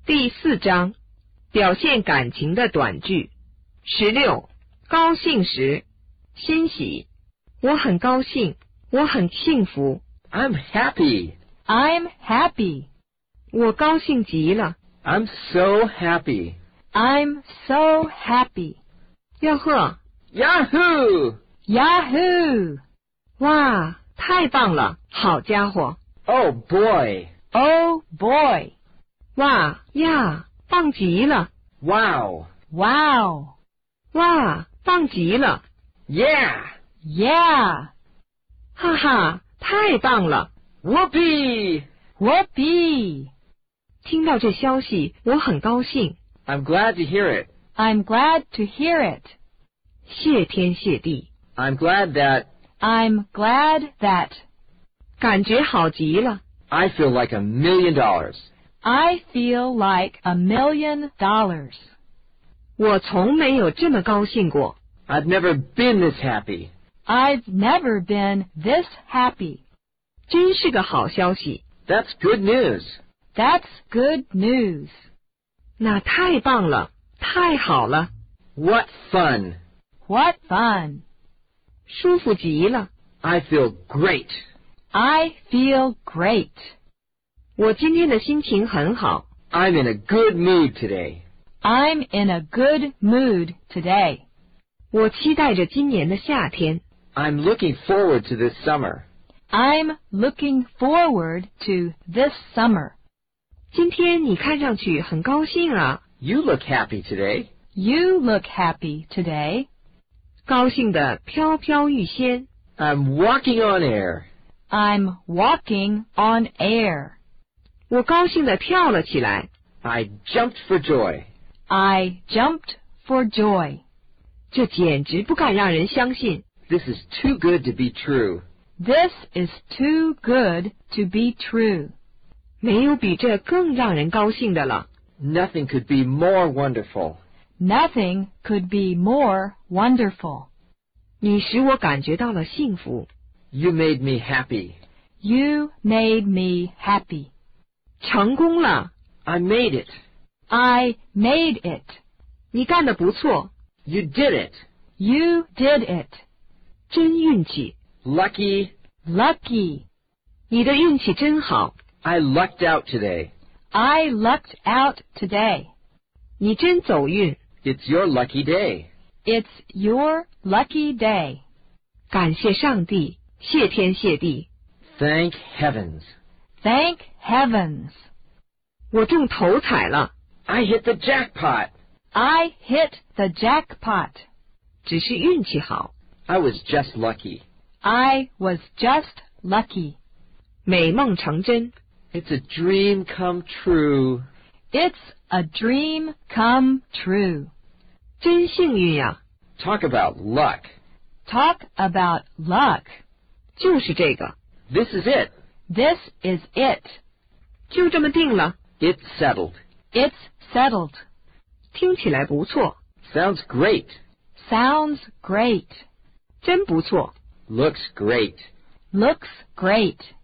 第4章，表现感情的短句。16，高兴时，欣喜。我很高兴，我很幸福。 I'm happy. I'm happy. 我高兴极了。 I'm so happy. I'm so happy. 吆喝 Yahoo! Yahoo! 哇，太棒了，好家伙。 Oh boy! Oh boy! 哇呀，棒极了。 Wow! Wow! 哇，棒极了。 Yeah! Yeah! 哈哈，太棒了。 Whoopee! Whoopee! 听到这消息，我很高兴。 I'm glad to hear it. I'm glad to hear it. 谢天谢地。 I'm glad that I'm glad that. 感觉好极了。 I feel like $1 million. I feel like $1 million. 我从没有这么高兴过。 I've never been this happy. I've never been this happy. 真是个好消息。 That's good news. That's good news. 那太棒了，太好了， What fun. What fun. 舒服极了。 I feel great. I feel great. 我今天的心情很好。 I'm in a good mood today. I'm in a good mood today. 我期待着今年的夏天。 I'm looking forward to this summer. I'm looking forward to this summer. 今天你看上去很高兴啊。 You look happy today. You look happy today. 高兴得飘飘欲仙。 I'm walking on air. I'm walking on air. 我高兴地跳了起来。 I jumped for joy. I jumped for joy. 这简直不敢让人相信。 This is too good to be true. This is too good to be true. 没有比这更让人高兴的了。 Nothing could be more wonderful. Nothing could be more wonderful. 你使我感觉到了幸福。 You made me happy. You made me happy. 成功了。 I made it. I made it. 你干得不错。 You did it. You did it. 真运气。 Lucky. Lucky. 你的运气真好。 I lucked out today. I lucked out today. 你真走运。 It's your lucky day. It's your lucky day. 感谢上帝，谢天谢地。 Thank heavens. Thank heavens. 我中头彩了。 I hit the jackpot. I hit the jackpot. 只是运气好。 I was just lucky. I was just lucky. 美梦成真。 It's a dream come true. It's a dream come true. 真幸运呀。 Talk about luck. Talk about luck. 就是这个。 This is it. This is it. 就这么定了。 It's settled. It's settled. 听起来不错。 Sounds great. Sounds great. 真不错。 Looks great. Looks great.